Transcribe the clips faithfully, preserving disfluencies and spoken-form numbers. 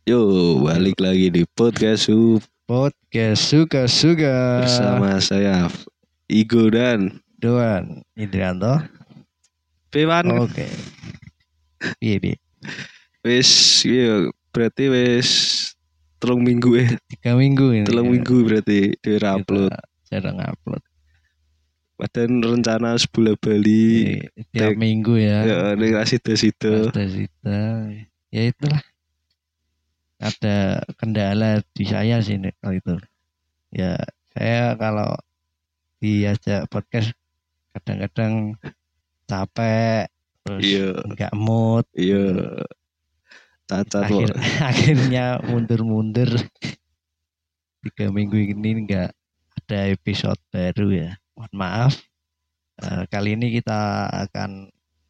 Yo, balik lagi di podcast Su Podcast Suka-Suka bersama saya Igo dan Doan Indrianto. Pewan. Oke. Piye piye? Wis, iya, berarti wis telung minggu ya. Tiga minggu ini. Telung minggu berarti di Kita upload. jarang upload. Padahal rencana sebulan Bali. Jadi, tiap tek- minggu ya. Ya, ini kasih situ. Sita-sita. Ya itulah. Ada kendala di saya sih Nek, kalau itu. Ya saya kalau diajak podcast kadang-kadang capek, terus Iya. nggak mood. Iya. Cacat kok. Akhir, akhirnya mundur-mundur. Tiga minggu ini nggak ada episode baru ya. Mohon maaf. Uh, kali ini kita akan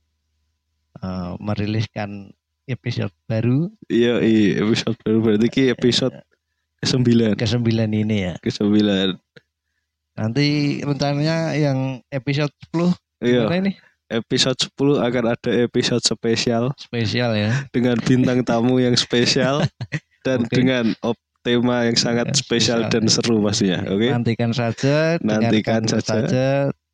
uh, meriliskan episode baru. Iya, iya, episode baru berarti ki episode kesembilan. Kesembilan ini ya. Kesembilan. Nanti rencananya yang episode sepuluh Iya. gimana ini? Episode sepuluh akan ada episode spesial. Spesial ya. Dengan bintang tamu yang spesial dan Oke. dengan op tema yang sangat Ya, spesial spesial. dan seru pastinya. Oke. Nantikan saja, Nantikan dengarkan saja. saja.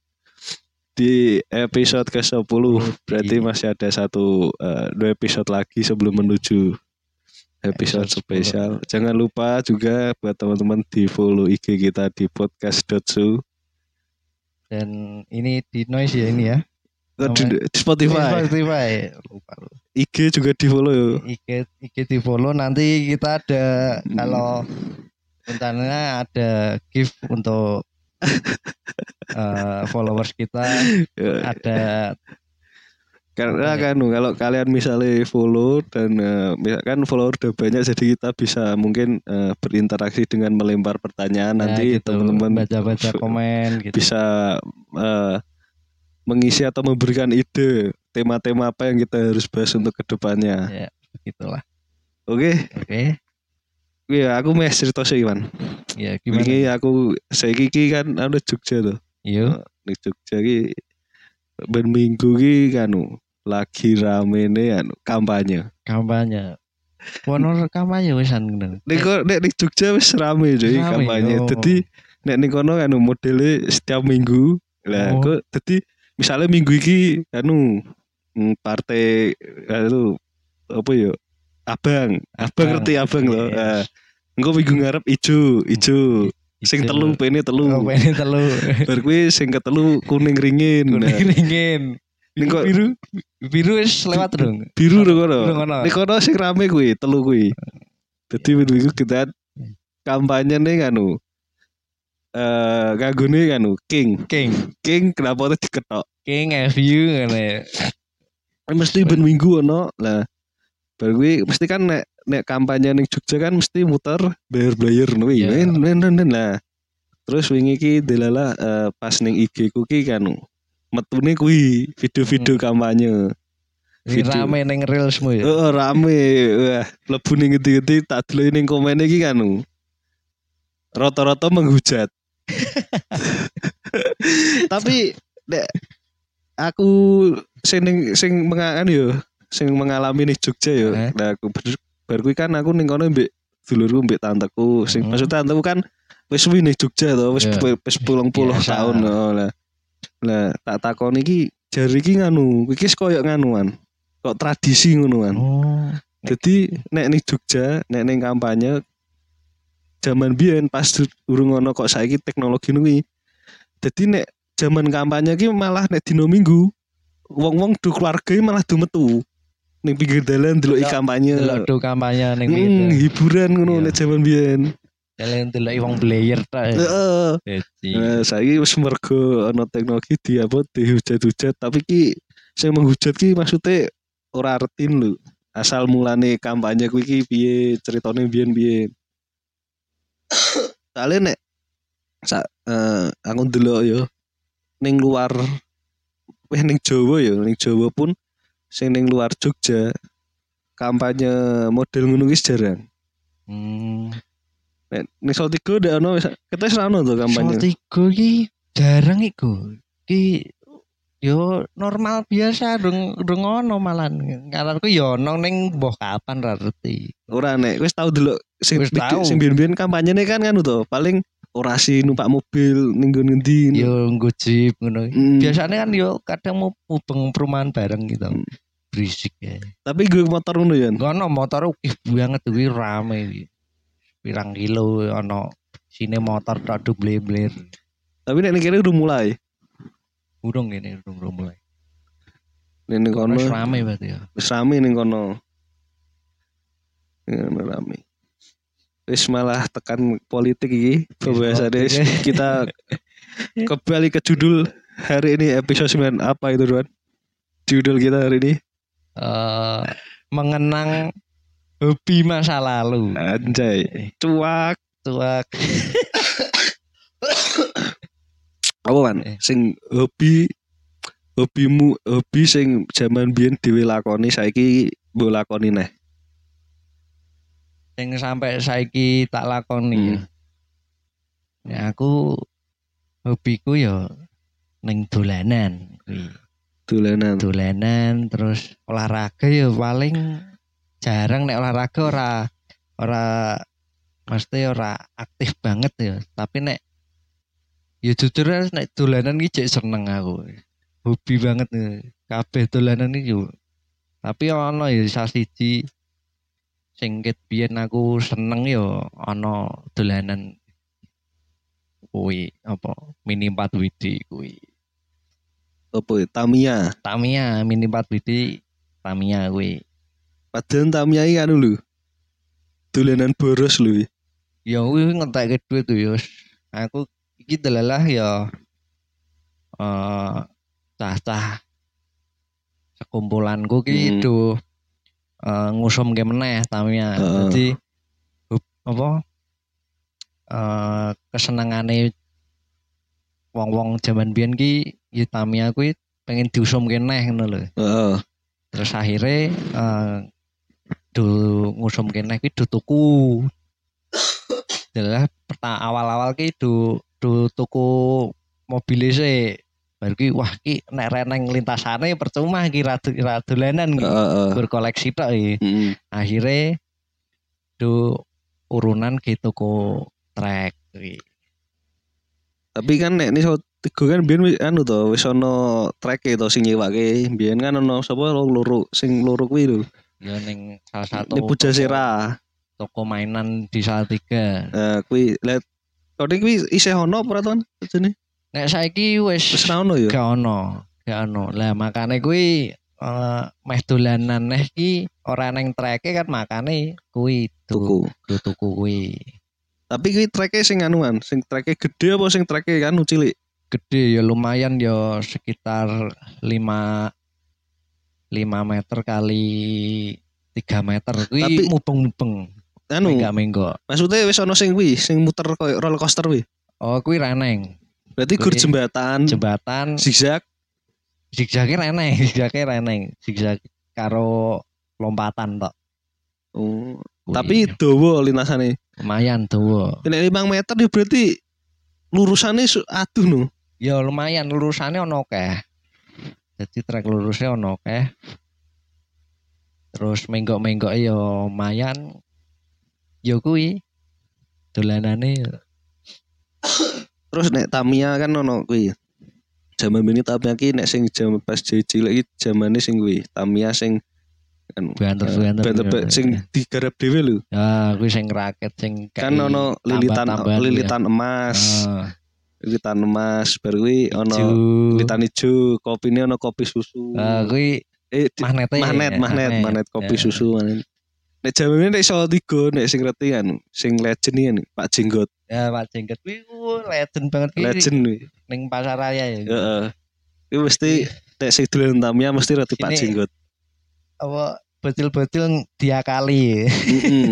Di episode ke sepuluh Di- berarti masih ada satu uh, dua episode lagi sebelum menuju episode Episode spesial. Jangan lupa juga buat teman-teman di follow I G kita di podcast dot su. Dan ini di noise ya ini ya. Di, di Spotify. Spotify. Lupa. I G juga di follow yo. I G I G di follow, nanti kita ada Hmm. kalau rencananya ada gift untuk uh, followers kita, ada Karena apa ya? kan kalau kalian misalnya follow dan uh, misalkan follower udah banyak, jadi kita bisa mungkin uh, berinteraksi dengan melempar pertanyaan. Ya, nanti gitu, teman-teman baca-baca f- komen gitu. bisa uh, mengisi atau memberikan ide tema-tema apa yang kita harus bahas untuk kedepannya. Ya, begitulah. Oke. Oke. Iya, aku mau cerita sih Iwan. Ya, gimana? Ini aku saya kiki kan ada Jogja tuh. Yo, Di Jogja ki ben minggu ki kanu lagi rame nih anu kampanye. kampanye. Wono kampanye wisan ngono. Nek kok nek di Jogja wis rame jadi Rame, kampanye. oh. Dadi nek ning kono anu modele setiap minggu. Lah Oh. kok dadi misalnya minggu iki anu mm, partai anu apa ya? Abang, abang Abang, ngerti abang yes. loh. Nah, engko minggu ngarep ijo, ijo. Sing Ijo. telu pene telu. Oh, pene telu. Bar kuwi sing ketelu kuning ringin. Nah, Kuning ringin. ning kok Biru biru wis lewat dong. biru lho kono. Biru kono. Ning kono sing rame kuwi, telu kuwi. Dadi minggu kita kampanye nih anu eh kagone anu King. King, King kenapa tuh diketok? King F U ngono ya. Mesti ben minggu ono. Lah bar kuwi mesti kan nek nek kampanye ning Jogja kan mesti muter bayar-bayar ngono kuwi. Iya. Men men men lah. Terus wingi ki delala eh, pas ning I G ku ki kan metune kuwi video-video kampanye. Ini Video. rame neng reelsmu ya. Oh, rame. Wah, mlebu ning ngendi-ngendi tak delok ning komen iki kan. Rata-rata menghujat. Tapi nek aku sing ning- sing mengalami yo, sing mengalami ning Jogja yo. Eh? Nah, aku ber- bar kuwi kan aku ning kono mbek dulurku mbek tanteku. Sing Hmm. maksud tanteku kan wis suwi ning Jogja to, wis Iya. wis puluh puluh Biasa. tahun. Oh, lah. Lah tak takoni iki jari iki nganu, iki koyo nganuan. Kok tradisi ngonoan. Oh. Jadi nek ning Jogja, nek ning kampanye zaman biyen pas urung ono kok saiki teknologi kuwi. Jadi nek zaman kampanye ki malah nek dino Minggu wong-wong do keluarga malah do metu ning pinggir dalan ndeloki Delok- kampanye. Delok do kampanye ning Hmm, gitu. hiburan ngono Iya. nek zaman biyen. Kalian delok wong player ta. Heeh. Jadi Nah, saiki wis mergo ono teknologi di apa dihujat-hujat, tapi ki sing menghujat ki maksudnya ora artin lho. Asal mulane kampanye kuwi ki piye, ceritane biyen-biyen. Soale nek sak eh, aku ndelok yo ning luar weh ning Jawa yo, ning Jawa pun sing ning luar Jogja kampanye model ngono ki jarang. hmm. Nek ning Salatiga ndak ono wis ketes ra ono to kampanye. Salatiga ki jarang iku. Ki Yo normal biasa dong dong ono malan. Karena yo ono ning mbah kapan ra ngerti. Ora nek wis tau delok sing Wis tau. sing biyen-biyen kampanyene kan kan to paling orasi numpak mobil ning nggon ngendi. Yo nggo jeep ngono. Hmm. Biasanya kan yo kadang mau mubeng perumahan bareng gitu. Hmm. Berisik ya. Tapi gue motor ngono ya. Ngono motor ukih banget kuwi rame iki. Pirang kilo ono sine motor tok duble-bler. Tapi nek kene udah mulai. Urung ini urung urung mulai. Ning kono Wis rame berarti ya. Wis rame ning kono. Ya, rame. Wis malah tekan politik iki pembahasannya kita kembali ke judul hari ini episode sembilan apa itu Ruan? Judul kita hari ini uh, mengenang hobi masa lalu. Anjay, cuak cuak. Apa kan? Eh. Sing hobi hobimu hobi sing zaman biyen dhewe lakoni saiki mbok lakoni neh. Sing sampai saiki tak lakoni hmm. ya. Ya aku hobiku ya ning dolanan kuwi. Dolanan. Dolanan terus olahraga ya paling jarang nek olahraga ora ora mesti ora aktif banget ya. Tapi nek ya jujur nek dolanan iki jek seneng aku. Hobi banget ya. Kabeh dolanan iki yo. Tapi ono ya sasiji sing ket biyen aku seneng yo ana dolanan kuwi apa mini empat W D kuwi. Apa Tamiya? Tamiya mini empat W D Tamiya kuwi. Padahal Tamiya iki anu lho. Dolanan boros lho. Ya kuwi ngentekke duit tuh yo. Aku iki delalah ya eh uh, cah-cah sekumpulanku ki do uh, ngusum ke meneh Tamiya. Uh. Jadi apa uh, kesenengane wong-wong jaman biyen ki ya Tamiya kuwi pengen diusum kene ngono lho. Heeh. Uh. Terus akhirnya uh, do ngusum kene kuwi do tuku. Adalah pertama awal-awal ki do do tuku mobil sik. Baru ki wah ki nek reneng lintasane percuma ki ra dolanan ki. Uh, uh. Berkoleksi tok iki. Mm. Akhire do urunan gitu tuku trek kuwi. Tapi kan nek iso tiga kan biyen anu to wis ana treke to sing nyewake. Biyen kan ana sapa loro sing loro kuwi lho. Ya ning salah satu Ini Pujasera. Toko mainan di Salatiga. Nah, kuwi let kok kuwi isih ono apa to jane? Nek saiki wis wis ra ono ya. Gak ono, gak ono. Lah makane kuwi uh, meh dolanan neh ki ora neng treke kan makane kuwi tuku. Tuku kuwi. Tapi kuwi treke sing anuan, sing treke gede apa sing treke kan cilik? Gede ya lumayan ya sekitar lima meter kali tiga meter kuwi. Tapi mubeng-mubeng. Anu, menggo. Maksudnya wis ono sing kuwi, sing muter koyo roller coaster kuwi. Oh, kuwi reneng. Berarti gur jembatan. Jembatan zigzag. Zigzagnya reneng, zigzagnya reneng. Zigzag karo lompatan tok. Oh. Kuwi. Tapi dawa lintasane. Lumayan dawa. Nek lima meter ya berarti lurusane aduh no. Ya lumayan lurusane ono akeh. Jadi trek lurusnya ono akeh. Terus menggok-menggok ya lumayan. Yo kuwi dolanane. Terus nek Tamiya kan ono kuwi. Jaman bini Tamiya ki nek sing jaman pas cilik iki jamane sing kuwi. Tamiya sing kan banter-banter sing digarap dhewe lho. Ah, kuwi sing raket sing kan ono lilitan lilitan ya. Emas. Ah. Lilitan emas baru kuwi ono lilitan ijo, kopine ono kopi susu. Ah, kuwi eh, magnet magnet magnet magnet kopi ya. Susu magnet. Nek jamane nek iso tiga nek sing ngerti kan sing legend iki kan Pak Jenggot. Ya Pak Jenggot kuwi legend banget kuwi. Legend kuwi. Ning pasar raya ya. Heeh. Kuwi mesti nek sing dolen Tamiya mesti roti Pak Jenggot. Apa bocil-bocil diakali. Heeh.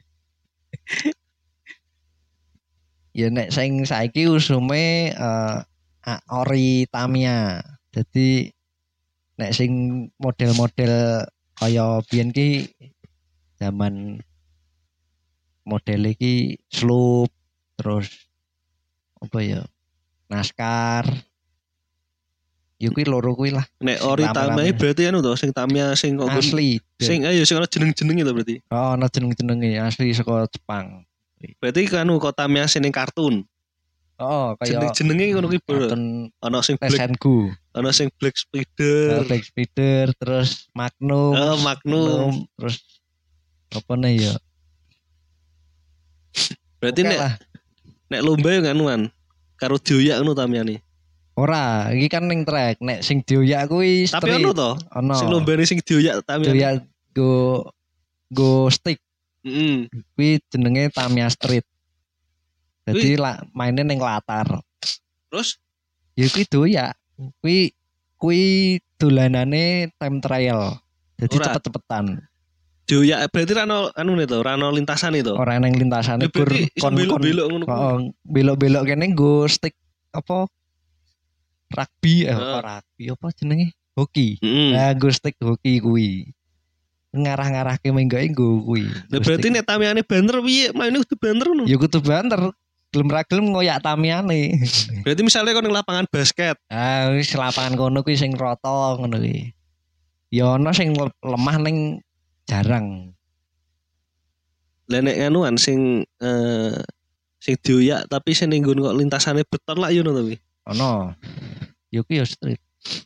Ya nek sing saiki usume uh, ori Tamiya. Jadi nek sing model-model kaya biyen ki zaman model iki sloop terus apa ya naskar Ya kuwi loro kuwi lah. Nek Sing ori rame-rame. Tamiya berarti anu to sing Tamiya sing kok gun- Asli. sing ayo sing ana jeneng-jenenge to berarti. Oh, ana jeneng-jenenge asli saka Jepang. Berarti kan anu kok Tamiya sing ning kartun. Oh, kaya Jeneng-jenenge ngono kuwi bro. kartun Ana sing Black, Sengoku. ana sing Black Uh, Spider. Black Spider, terus Magnum, Oh, Magnum. terus apa nih ya? Berarti Oke nek lah. nek lomba yo nganuan karo dioyak ngono Tamiyane. Ora, iki kan ning trek, nek sing dioyak kuwi Tapi street. ono to, Ono. sing lombane sing dioyak Tamiyane. Dioyak go go stick. Heeh. Kuwi jenenge Tamiya Street. Jadi Kuwi- la, maine ning latar. Terus Ya kuwi doyak. Kuwi kuwi dolanane time trial. Jadi Ora. cepet-cepetan. dioyak berarti ra ono anu ne to, ra ono lintasane to. Ora nang lintasane Ya, gur berarti iso belok-belok ngono kuwi. Oh, belok-belok kene nggo stick apa rugby eh Heeh. apa rugby apa jenenge? Hoki. Heeh. Nah, nggo stick hoki kuwi. Ngarah-ngarahke menggoke nggo kuwi. Nah, berarti nek Tamiyane banter piye? Maine kudu banter ngono. Ya kudu banter. Gelem ra gelem ngoyak Tamiyane. Berarti misalnya kau ning lapangan basket, Ah, wis lapangan kono kuwi sing rata ngono kuwi. Ya ana sing le- lemah ning jarang. lah nek anuan sing eh sing dioyak tapi sing ning nggon kok lintasane beton lah yo ngono to kuwi. Ana. Ya kuwi ya street.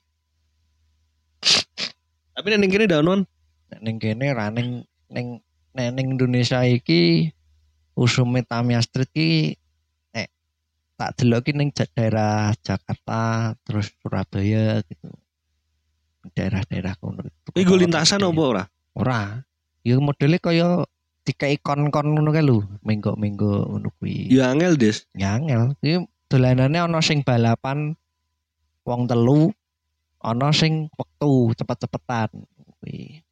Tapi nek ning kene ndak ono. Nek ning kene ra ning ning nek ning Indonesia iki usume Tamiya Street ki nek tak delok ki ning ja- daerah Jakarta terus Surabaya gitu. Daerah-daerah kono. Kuwi nggo lintasan apa ora? Ora. Ya modele kaya dikai kon-kon ngono kae lho, menggo-menggo ngono kuwi. Ya angel, Des. Ya angel. Kuwi dolanane ana sing balapan wong telu, ana sing wektu cepet-cepetan kuwi.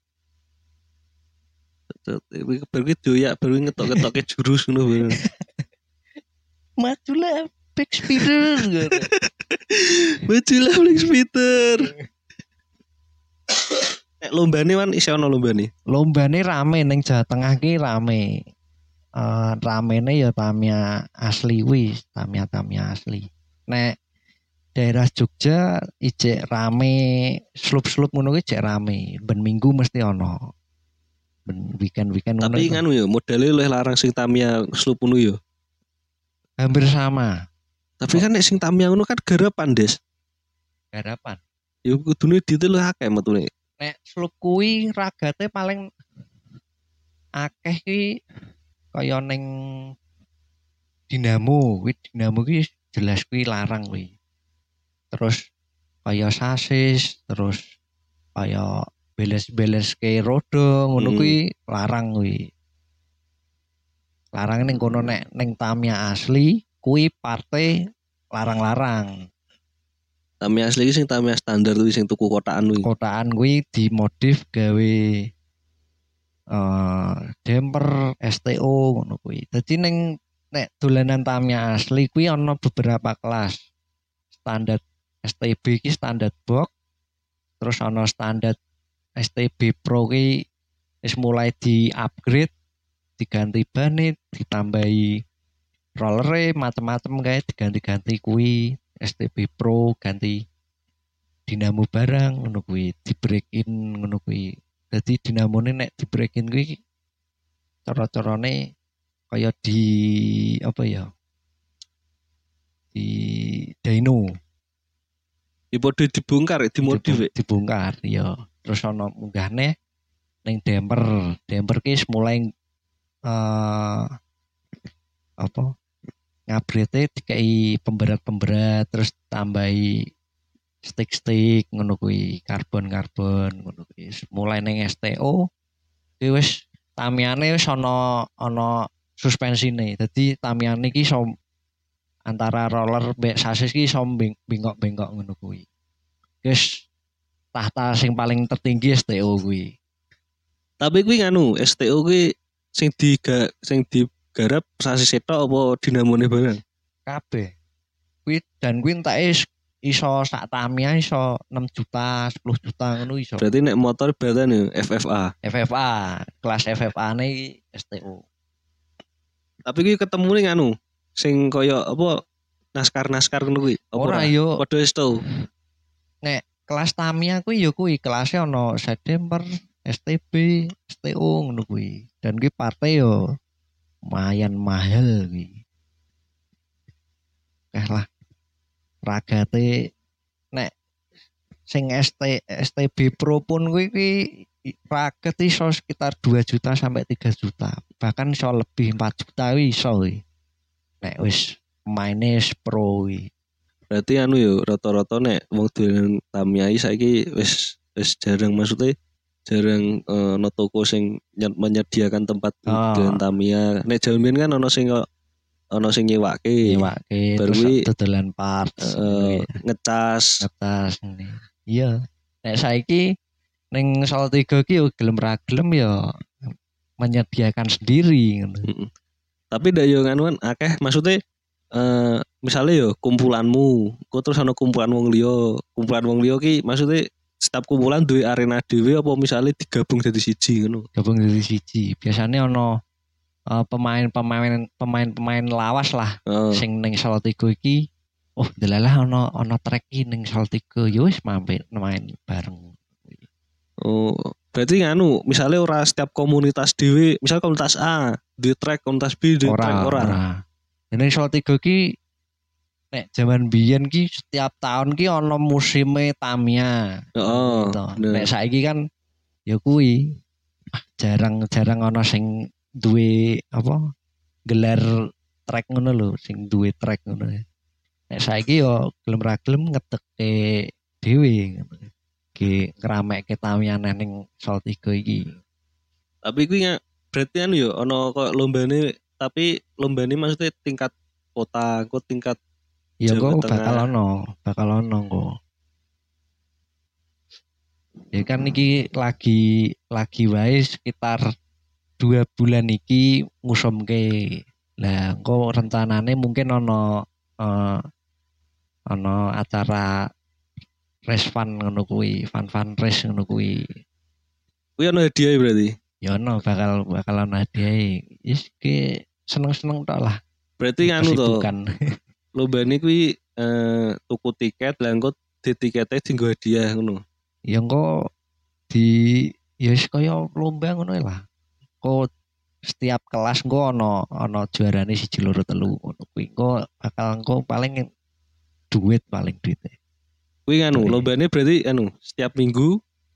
Kuwi baru dioyak baru ngetok-ngetokke jurus ngono baru. Majulah back speeder. Majulah Black Spider. Nek lombane kan isih ono lombane. Lombane rame ning Jawa Tengah ki rame. Eh ramene ya Tamiya asli wis, Tamiya-Tamiya asli. Nek daerah Jogja ijek rame, slup-slup ngono ki ijek rame. Ben minggu mesti ono. Ben weekend-weekend ngono. Tapi iku. nganu ya modele luwih larang sing Tamiya slup ngono ya. Hampir sama. Tapi kan nek sing Tamiya ngono kan garapan, Des. Garapan. Ya kudune detail luwih akeh metune. Nek slup kuwi ragate paling akeh ki kaya ning dinamo, kuwi dinamo ki jelas kuwi larang kuwi. Terus kaya sasis, terus kaya beles-beles ke roda ngono Hmm. kuwi larang kuwi. Larang ning kono nek ning Tamiya asli kuwi parte larang-larang. Tamiya asli iki sing Tamiya standar kuwi sing tuku kotakan kuwi. Kotaan kuwi dimodif gawe eh damper S T O ngono kuwi. Dadi ning nek dolanan Tamiya asli kuwi ana beberapa kelas. Standar S T B ki standar box. Terus ana standar S T B Pro ki wis mulai di-upgrade, diganti bane, ditambahi rollere macem-macem kae diganti-ganti kuwi. S T B Pro ganti dinamo barang ngono kuwi, di break in ngono kuwi. Dadi dinamone nek di break in kuwi cara-carane kaya di apa ya? Di dyno Ya padha dibongkar, dimodif. Dibu- dibongkar ya. Terus ana munggahne ning damper. Damper ki wis mulai eh apa? Ngabrete dikai pemberat-pemberat terus tambahi stick-stick ngono kuwi, karbon-karbon ngono kuwi. Mulai ning S T O kuwi wis Tamiyane wis ana ana suspensine. Dadi Tamiyane iki iso antara roller mbek sasis ki iso beng- bengkok-bengkok ngono kuwi. Wis tahta sing paling tertinggi S T O kuwi. Tapi kuwi nganu, S T O kuwi sing diga sing digarap sasis setok apa dinamone barang? Kabeh. Kuwi dan kuwi entake is- iso sak Tamiya iso enam juta, sepuluh juta ngono iso. Berarti nek motor beratan ya F F A. F F A, kelas F F A-ne iki S T O. Tapi kuwi ketemu ning anu, sing kaya apa naskar-naskar ngono kuwi. Apa Ora yo, Padha wis tau. nek kelas Tamiya kuwi ya kuwi kelasnya ono September, S T B, S T O ngono kuwi. Dan kuwi partai yo lumayan mahal kuwi. Kah lah ragate nek sing S T S T B Pro pun kuwi kuwi raket iso sekitar dua juta sampai tiga juta. Bahkan iso lebih empat juta kuwi iso kuwi. Nek wis maine wis pro kuwi. Berarti anu yo rata-rata nek wong dolan Tamiya saiki wis wis jarang maksudnya jarang eh, ono toko sing ny- menyediakan tempat Oh, dolan Tamiya. Nek jaman kan ono sing ono sing nyewake. nyewake Baru terus kuwi dodolan parts eh, ngono kuwi. ngecas. Ngetas ngene. Iya. Nek saiki ning Salatiga ki yo gelem ra gelem yo menyediakan sendiri ngono. Mm-mm. Tapi ndak yo nganuan akeh maksudnya eh misalnya yo kumpulanmu, kok terus ono kumpulan wong liya, kumpulan wong liya ki maksudnya setiap kumpulan duwe arena dhewe apa misalnya digabung jadi siji ngono. Gabung dari siji. Biasanya ono eh, pemain-pemain pemain-pemain lawas lah Heeh. sing ning Salatiga iki. Oh, delalah ono ono trek iki ning Salatiga. Yo wis mampir main bareng. Oh, berarti nganu, misalnya ora setiap komunitas dhewe, misal komunitas A di track, komunitas B di Ora, track ora. ora. Ning Salatiga ki nek jaman biyen ki setiap tahun ki ono musime Tamiya. Heeh, Gitu. bener. Nek saiki kan ya kuwi jarang-jarang ono sing duwe apa gelar trek ngono lho, sing duwe trek ngono. Nek saiki yo gelem ra gelem ngetekke dhewe ngono. Ki ngeramekke Tamiya ning Salatiga iki. Tapi kuwi nggak berarti anu yo ono kok lombane, tapi lombane maksudnya tingkat kota, kok tingkat Ya Jawa kok bakal Tengah. ono, bakal ono kok. Ya kan iki lagi lagi wae sekitar dua bulan iki ngusumke. Lah engko rencanane mungkin ono eh, ono acara race fun ngono kuwi, fun-fun race ngono kuwi. Kuwi ono hadiah berarti. Ya ono bakal bakal ono hadiah. Wis ki seneng-seneng tok lah. Berarti anu to, Kesibukan. lombane kuwi eh, tuku tiket, lah engko di tiketnya dienggo hadiah ngono. Ya engko di ya wis kaya lomba ngono lah. Kok setiap kelas engko ono ono juarane siji loro telu ngono kuwi. Engko bakal engko paling duit paling duitnya. Kuwi nganu, Duit. lombane berarti anu setiap minggu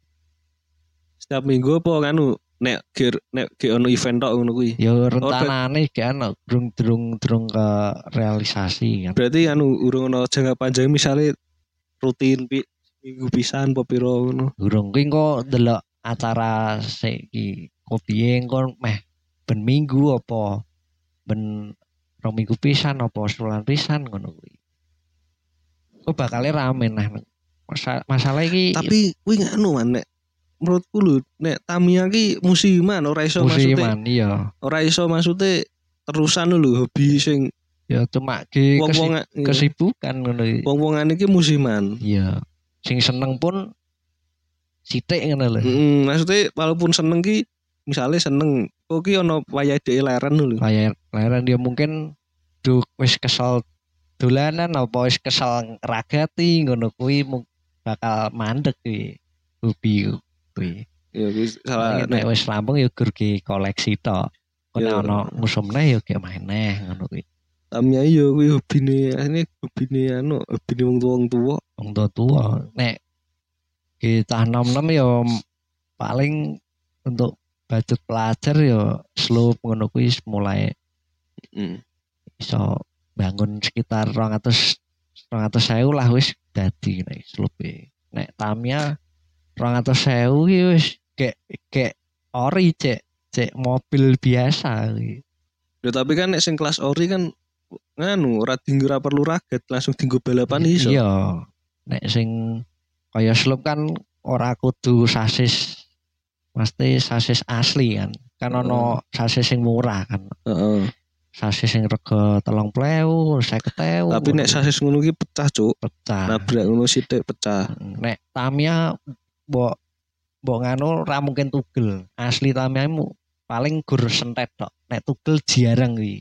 setiap minggu apa nganu nek ge nek ge ono event tok ngono kuwi. Ya rencanane gak ono durung-durung ke realisasi kan. Berarti anu urung ono jangka panjang misalnya rutin pi, minggu pisan apa pira ngono. Durung kuwi engko delok acara sik iki. Kopiye engko meh ben minggu apa ben rong minggu pisan apa sebulan pisan ngono kuwi. Kok bakal rame nah. Masa, masalah iki Tapi kuwi nganu man nek menurutku lho nek Tamiya ki musiman ora iso maksudnya musiman iya. ora iso maksudnya terusan lho hobi sing Ya cuma ki wong-wong kesi- kesibukan ngono iki. wong-wongan iki musiman. Iya. Sing seneng pun sithik ngono lho. Heeh, maksudnya walaupun seneng ki misalnya seneng kok ki ono wayah dhek leren lho. Layar layaran dia mungkin duh wis kesel dolanan apa wis kesel ragati ngono kuwi mu- bakal mandek kuwi. Hobi kuwi. Ya kuwi salah Nek nek wis rampung ya gur ki koleksi tok. Kok Ya. nek ono musumne ya ge main neh ngono kuwi. Tamiya yo kuwi hobine ini hobine anu hobine wong tuwa wong tuwa. Wong tua nek kita nom-nom ya paling untuk budget pelajar ya slope ngono kuwi wis mulai Heeh. iso bangun sekitar rong atus rong atus sewu lah wis dadi nek slope. Nek Tamiya rong atus sewu ki wis kayak kayak ori cek cek mobil biasa kuwi. Ya tapi kan nek sing kelas ori kan nganu ora tinggi ora perlu raget langsung tinggo balapan iso. Iya. Nek sing kaya slope kan ora kudu sasis mesti sasis asli kan. Kan ono sasis sing murah kan. Heeh. Sasis sing rega telung puluh ewu, seket ewu. Tapi nek sasis ngono ki pecah, Cuk. pecah. Nabrak ngono sithik pecah. Nek Tamiya mbok mbok nganu ra mungkin tugel. Asli Tamiya mu paling gur sentet tok. Nek tugel jarang kuwi.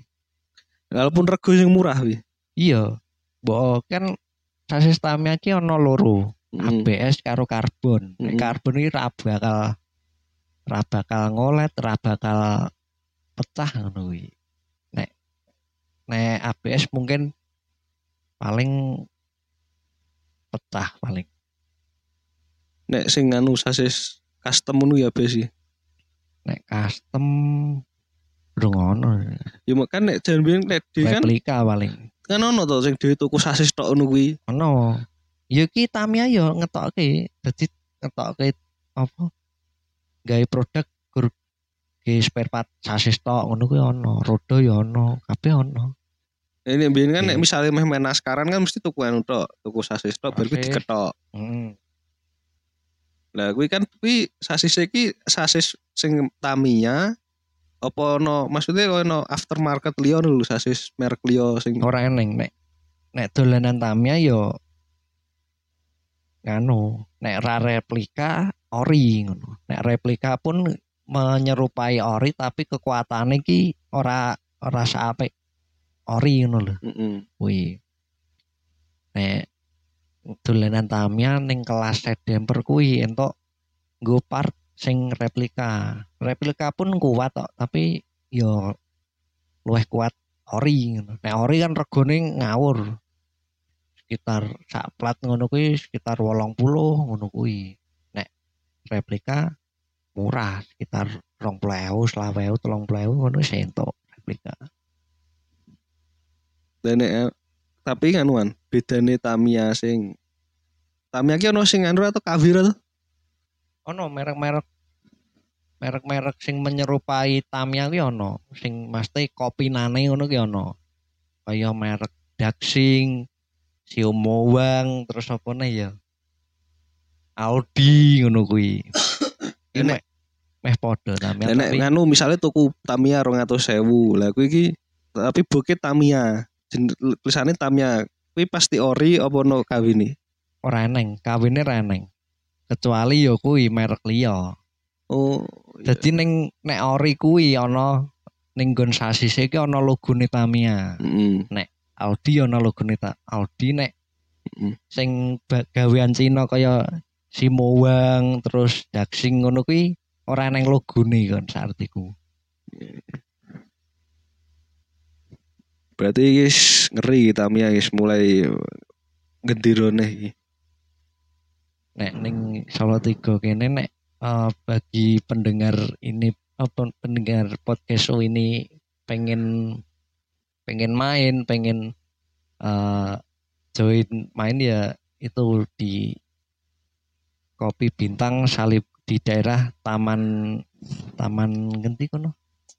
Walaupun rego sing murah wi. Iya. Mbok kan sasis Tamiya ki ono loro. Mm. A B S karo karbon. Nek Mm. karbon iki ra bakal ra bakal ngolet, ra bakal pecah ngono kuwi. Nek nek A B S mungkin paling pecah paling. Nek sing anu sasis custom ngono ya be sih. Nek custom durung ono. Ya mak kan nek jan biyen nek dhewe kan Replika paling. kan ono to sing dhewe tuku sasis tok ngono kuwi. Ono. Ya ki Tamiya yo ngetokke, dadi ngetokke apa? Gawe produk gur ge spare part sasis tok ngono kuwi ono, roda ya ono, kabeh ono. Ini biyen kan nek Oke. misalnya meh main naskaran kan mesti tuku anu tok, tuku sasis tok baru kuwi Sasis. diketok. Hmm. Lah kuwi kan kuwi sasis iki sasis sing Tamiya apa ono maksudnya ono aftermarket liya lho sasis merek liya sing Ora eneng nek nek dolanan Tamiya yo nganu, nek ra replika ori ngono. Nek replika pun menyerupai ori tapi kekuatane ki ora ora seapik ori ngono lho. heeh. Kuwi. Nek dolanan Tamiya ning kelas sedemper kuwi entuk nggo part sing replika. Replika pun kuat kok, tapi yo luwih kuat ori ngono. Nek ori kan regane ngawur. Sekitar sak plat ngono kuwi sekitar wolong puluh ngono kuwi. Nek replika murah sekitar rong puluh ewu, selawe ewu, telung puluh ewu ngono wis entuk replika. Dan nek tapi nganuan bedane Tamiya sing Tamiya ki ono sing anu atau Kavir atau Ono merek-merek merek-merek sing menyerupai Tamiya ki ono, sing mesti kopinane ngono ki ono. Kaya merek Daxing, Xiaomowang, terus apa nih ya? Audi ngono kuwi. Iki meh meh padha Tamiya nek tapi nganu misalnya tuku Tamiya rong atus ewu. Lah kuwi iki tapi bukit Tamiya. Tulisane Tamiya. Kuwi pasti ori apa ono kawine? ora eneng, kawine ora eneng. Kecuali ya kuwi merek liya. Oh. Dadi ning nek ori kuwi ana ning nggon sasise iki ana logone Tamiya. Heeh. Nek Audi ana logone ta Audi nek Heeh. sing gawean Cina kaya Simowang terus Daxing ngono kuwi ora eneng logone kon saartiku. Berarti guys ngeri Tamiya guys mulai gendirone iki. Nek ning Solo tiga kene nek uh, bagi pendengar ini apa pendengar podcast ini pengen pengen main, pengen uh, join main ya itu di Kopi Bintang Salib di daerah Taman Taman Genti kono.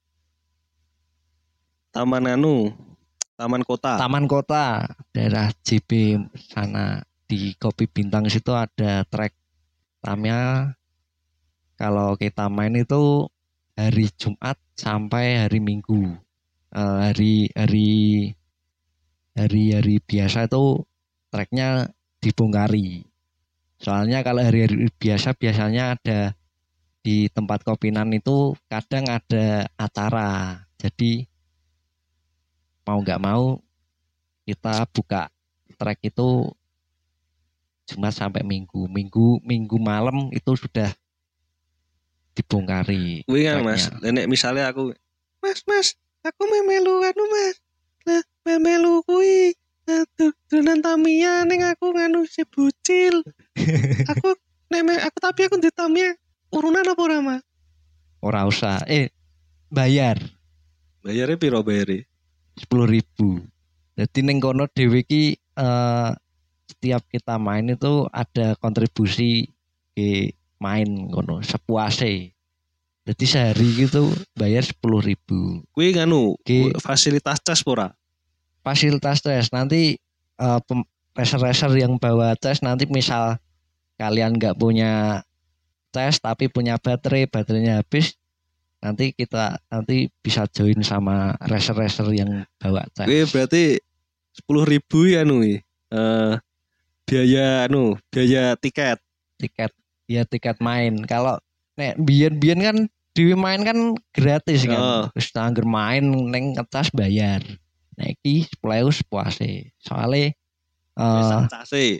Taman anu, Taman Kota. Taman Kota, daerah J B sana di Kopi Bintang situ ada trek Tamiya. Kalau kita main itu hari Jumat sampai hari Minggu. Uh, hari hari hari hari biasa itu treknya dibongkari. Soalnya kalau hari-hari biasa biasanya ada di tempat kopinan itu kadang ada acara. Jadi mau nggak mau kita buka trek itu Jumat sampai Minggu. Minggu Minggu malam itu sudah dibongkari. Kuwi kan treknya. Mas, nek misalnya aku Mas, Mas, aku memelu anu Mas. Lah, memelu kuwi dolan Tamiya ning aku nganu si bocil. Aku nek aku tapi aku di Tamiya urunan apa ora Mas? Ora usah. Eh bayar Bayarnya piro bayare? sepuluh ribu. Jadi ning kono dhewe iki eh, setiap kita main itu ada kontribusi ke main kono sepuase. Jadi sehari gitu bayar sepuluh ribu. Kuwi nganu, Ki- fasilitas cas ora? Fasilitas tes nanti eh, pem- racer-racer yang bawa tes nanti misal kalian nggak punya tes tapi punya baterai, baterainya habis, nanti kita nanti bisa join sama racer-racer yang bawa tes. Kuwi berarti sepuluh ribu ya anu eh biaya anu, biaya tiket. Tiket ya tiket main. Kalau nek biyen-biyen kan dewe main kan gratis kan. Oh. Terus angger main neng ngetas bayar. Nah iki sepuluh ewu sepuase. Soale eh Sak case.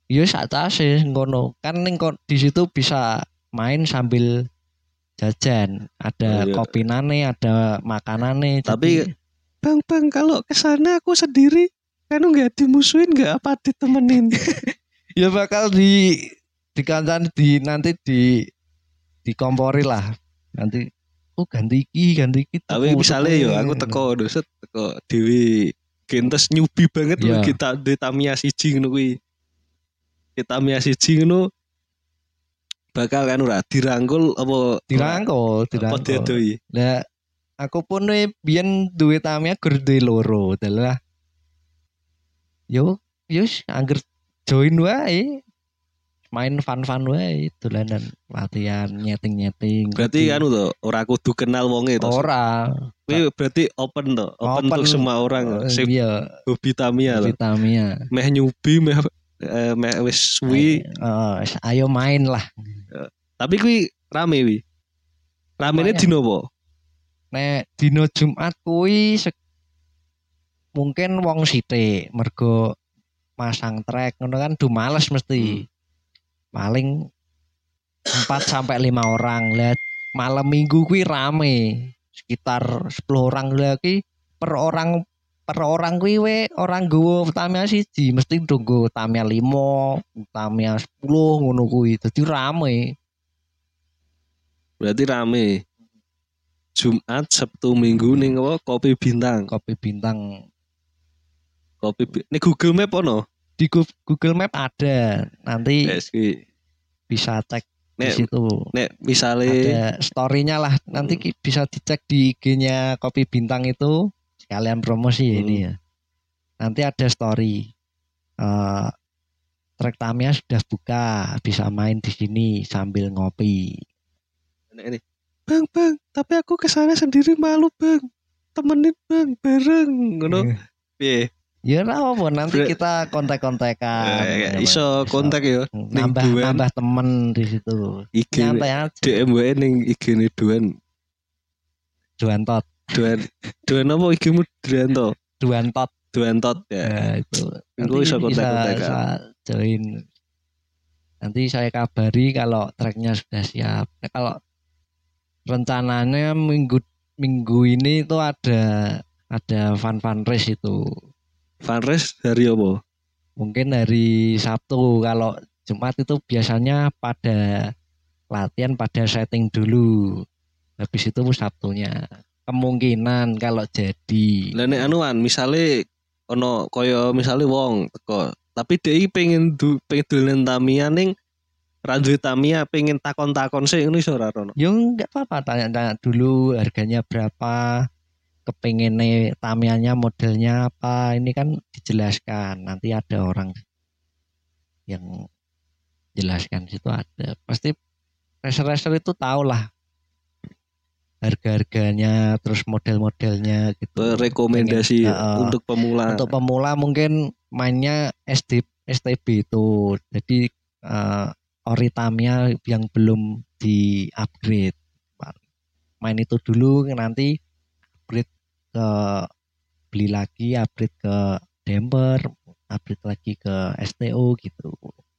Ya satase ngono. Kan ning ko- di situ bisa main sambil jajan, Oh, ada iya. kopinane, ada makanane. Tapi Jadi bang bang kalau kesana aku sendiri kan nggak dimusuhin nggak apa ditemenin. ya bakal di dikancan di nanti di dikompori lah. Nanti oh ganti iki, ganti iki Tapi tuku tuku. misalnya yo aku teko doset teko Dewi gentes nyubi banget loh Ya, kita di Tamiya siji ngono kuwi. Kita Tamiya siji ngono bakal kan ora dirangkul apa ora dirangkul, apa dirangkul. diadoi. Lah aku pun we biyen duwe Tamiya gur duwe loro. Dalah yo yus angger join wae. Main fun-fun wae dolanan latihan nyeting-nyeting Berarti kudu kan to ora kudu kenal wonge to. ora Kuwi berarti open to, open untuk open semua orang eh, sing iya hobi Tamiya to. Tamiya. Meh nyubi meh eh, meh wis suwi. Ayo, eh, ayo main lah. Tapi kuwi rame wi. Ramene Lumayan. dino apa? Nek dino Jumat kuwi se- mungkin wong sithik mergo masang trek ngono kan du males mesti. Hmm. Paling empat sampai lima orang. Lah malam Minggu kuwi rame. Sekitar sepuluh orang lagi per orang per orang kuwi we orang nggowo Tamiya siji mesti ndonggo Tamiya lima, Tamiya sepuluh ngono kuwi. Dadi rame. Berarti rame. Jumat, Sabtu, Minggu ning apa Kopi Bintang. Kopi Bintang Kopi Bi- ning Google Map ono. di Gu- Google Map ada. Nanti Yes, kuwi. bisa cek di Nek situ. nek misale Ada story-nya lah. Nanti ki- bisa dicek di I G-nya Kopi Bintang itu sekalian promosi ya ini Hmm. ya. Nanti ada story. Eh trek Tamiya sudah buka, bisa main di sini sambil ngopi. nek ini. Bang, bang, tapi aku kesana sendiri malu, Bang. Temenin, Bang, bareng ngono. Piye? Ya ora apa nanti Bre- kita kontak-kontakan. Eh, iso kontak ya ning nambah Duan nambah temen di situ. I G Nyantai aja. D M wae ning I G-ne Duan. Duan tot, Duan. Duan apa I G-mu Duanto? duan tot. Duantot ya. Nah, itu Engko nanti iso bisa, kontak-kontakan. bisa join. Nanti saya kabari kalau treknya sudah siap. Nah, kalau rencananya minggu minggu ini itu ada ada fun fun race itu. Fundraise hari apa? Mungkin hari Sabtu. Kalau Jumat itu biasanya pada latihan pada setting dulu. Habis itu Sabtunya. Kemungkinan kalau jadi. Lah nek anuan misale ono kaya misale wong teko, tapi dhek iki pengen du, pengen dolen Tamiya ning ra duwe Tamiya pengen takon-takon sik ngono iso ora Rono. Ya enggak apa-apa tanya-tanya dulu harganya berapa. Kepengennya Tamiyanya modelnya apa. Ini kan dijelaskan. Nanti ada orang yang jelaskan situ ada. Pasti racer-racer itu tahu lah harga-harganya terus model-modelnya gitu. Rekomendasi Pengen, uh, untuk pemula. Untuk pemula mungkin mainnya S D, S T B itu. Jadi uh, ori Tamiya yang belum di upgrade. Main itu dulu nanti upgrade ke beli lagi, upgrade ke damper, upgrade lagi ke S T O gitu.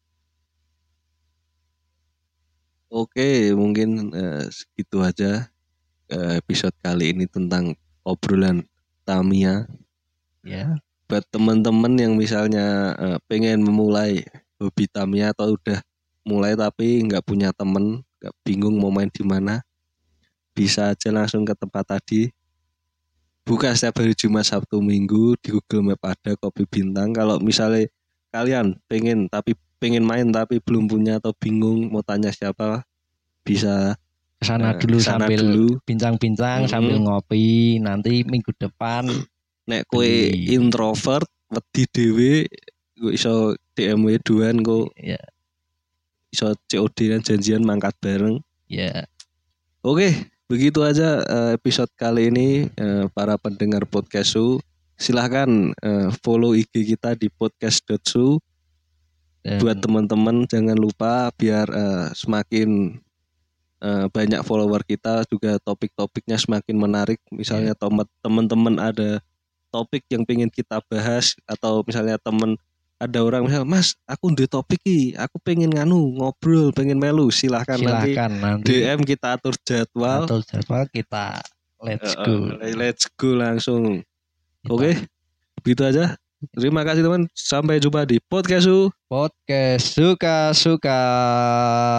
Oke, mungkin eh, segitu aja eh, episode kali ini tentang obrolan Tamiya. Ya. Buat teman-teman yang misalnya eh, pengen memulai hobi Tamiya atau udah mulai tapi nggak punya temen, nggak bingung mau main di mana, bisa aja langsung ke tempat tadi. Buka setiap hari Jumat, Sabtu, Minggu di Google Map ada Kopi Bintang. Kalau misalnya kalian pengen tapi pengen main tapi belum punya atau bingung mau tanya siapa, bisa Kesana eh, dulu kesana sambil dulu. bincang-bincang Hmm. sambil ngopi. Nanti minggu depan Nek kowe beli. introvert wedi dhewe gue iso D M W duan kok Ya, iso C O D dan janjian mangkat bareng. ya. Oke, begitu aja eh, episode kali ini eh, para pendengar podcast Su. Silahkan eh, follow I G kita di podcast dot su. Dan Buat teman-teman jangan lupa biar eh, semakin eh, banyak follower kita juga topik-topiknya semakin menarik. Misalnya teman- teman-teman ada topik yang pengen kita bahas atau misalnya teman ada orang misal, Mas, aku di topik iki, aku pengen nganu ngobrol, pengen melu, silahkan, nanti Silakan D nanti M kita atur jadwal. atau jadwal kita let's Eh, go. eh, let's go langsung. Kita Oke, begitu aja. Terima kasih teman. Sampai jumpa di podcast. podcast suka-suka.